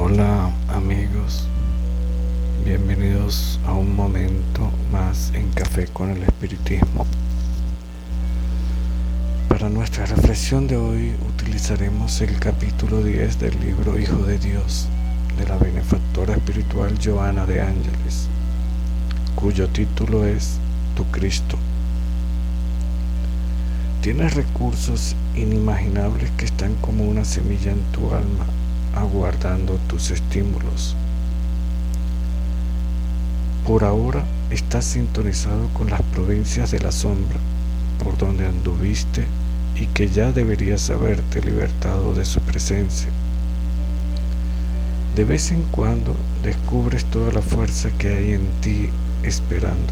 Hola amigos, bienvenidos a un momento más en Café con el Espiritismo. Para nuestra reflexión de hoy utilizaremos el capítulo 10 del libro Hijo de Dios, de la benefactora espiritual Joana de Ángeles, cuyo título es Tu Cristo. Tienes recursos inimaginables que están como una semilla en tu alma, aguardando tus estímulos. Por ahora estás sintonizado con las provincias de la sombra, por donde anduviste y que ya deberías haberte libertado de su presencia. De vez en cuando descubres toda la fuerza que hay en ti esperando.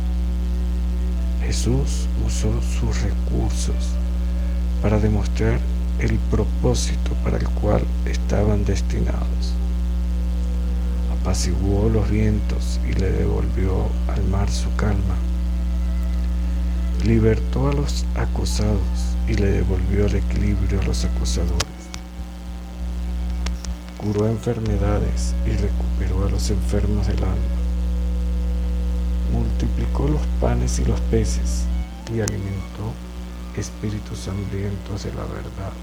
Jesús usó sus recursos para demostrar el propósito para el cual estaban destinados. Apaciguó los vientos y le devolvió al mar su calma. Libertó a los acosados y le devolvió el equilibrio a los acosadores. Curó enfermedades y recuperó a los enfermos del alma. Multiplicó los panes y los peces y alimentó espíritus hambrientos de la verdad.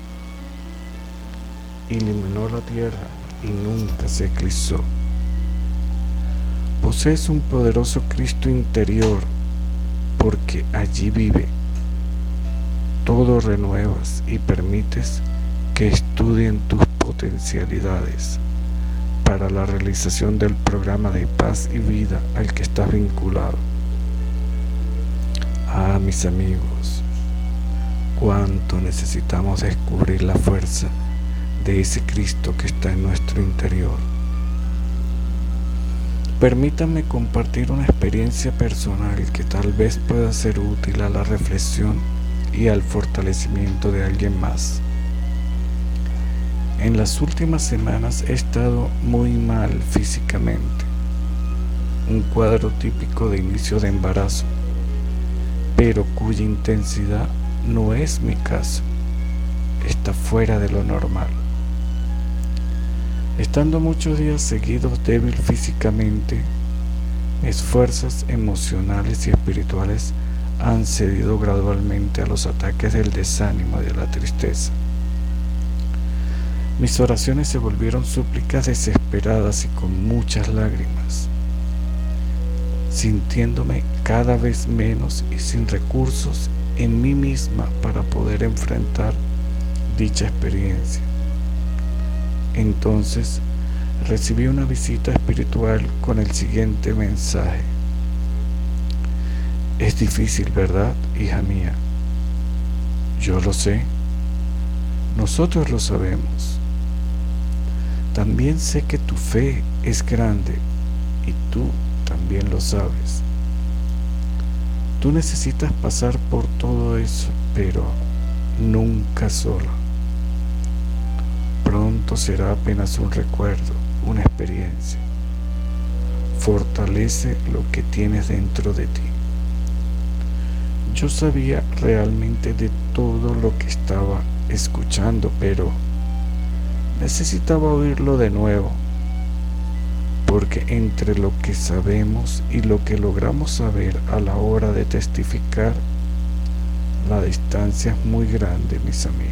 Iluminó la tierra y nunca se eclipsó. Posees un poderoso Cristo interior, porque allí vive. Todo renuevas y permites que estudien tus potencialidades para la realización del programa de paz y vida al que estás vinculado. Ah, mis amigos, cuánto necesitamos descubrir la fuerza de ese Cristo que está en nuestro interior. Permítanme compartir una experiencia personal que tal vez pueda ser útil a la reflexión y al fortalecimiento de alguien más. En las últimas semanas he estado muy mal físicamente, un cuadro típico de inicio de embarazo, pero cuya intensidad no es mi caso, está fuera de lo normal. Estando muchos días seguidos débil físicamente, mis fuerzas emocionales y espirituales han cedido gradualmente a los ataques del desánimo y de la tristeza. Mis oraciones se volvieron súplicas desesperadas y con muchas lágrimas, sintiéndome cada vez menos y sin recursos en mí misma para poder enfrentar dicha experiencia. Entonces recibí una visita espiritual con el siguiente mensaje. Es difícil, ¿verdad, hija mía? Yo lo sé. Nosotros lo sabemos. También sé que tu fe es grande y tú también lo sabes. Tú necesitas pasar por todo eso, pero nunca sola. Pronto será apenas un recuerdo, una experiencia. Fortalece lo que tienes dentro de ti. Yo sabía realmente de todo lo que estaba escuchando, pero necesitaba oírlo de nuevo, porque entre lo que sabemos y lo que logramos saber a la hora de testificar, la distancia es muy grande, mis amigos.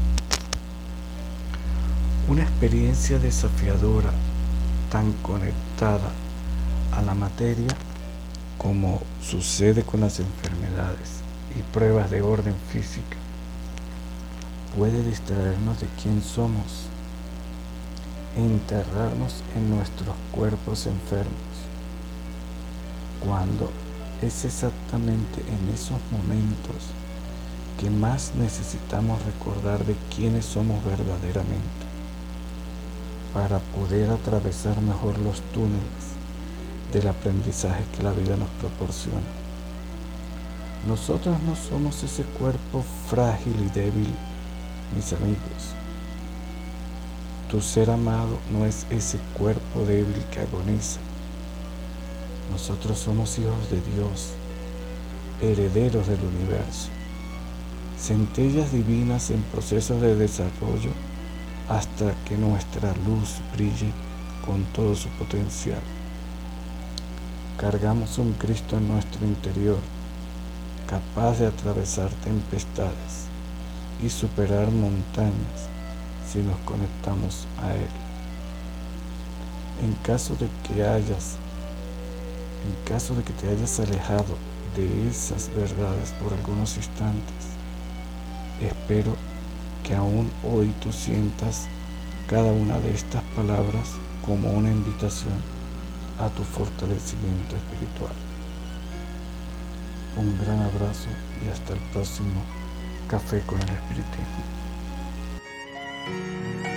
Una experiencia desafiadora, tan conectada a la materia como sucede con las enfermedades y pruebas de orden física, puede distraernos de quién somos e enterrarnos en nuestros cuerpos enfermos, cuando es exactamente en esos momentos que más necesitamos recordar de quiénes somos verdaderamente, para poder atravesar mejor los túneles del aprendizaje que la vida nos proporciona. Nosotros no somos ese cuerpo frágil y débil, mis amigos. Tu ser amado no es ese cuerpo débil que agoniza. Nosotros somos hijos de Dios, herederos del universo, centellas divinas en proceso de desarrollo hasta que nuestra luz brille con todo su potencial. Cargamos un Cristo en nuestro interior, capaz de atravesar tempestades y superar montañas si nos conectamos a Él. En caso de que te hayas alejado de esas verdades por algunos instantes, espero que aún hoy tú sientas cada una de estas palabras como una invitación a tu fortalecimiento espiritual. Un gran abrazo y hasta el próximo Café con el Espiritismo.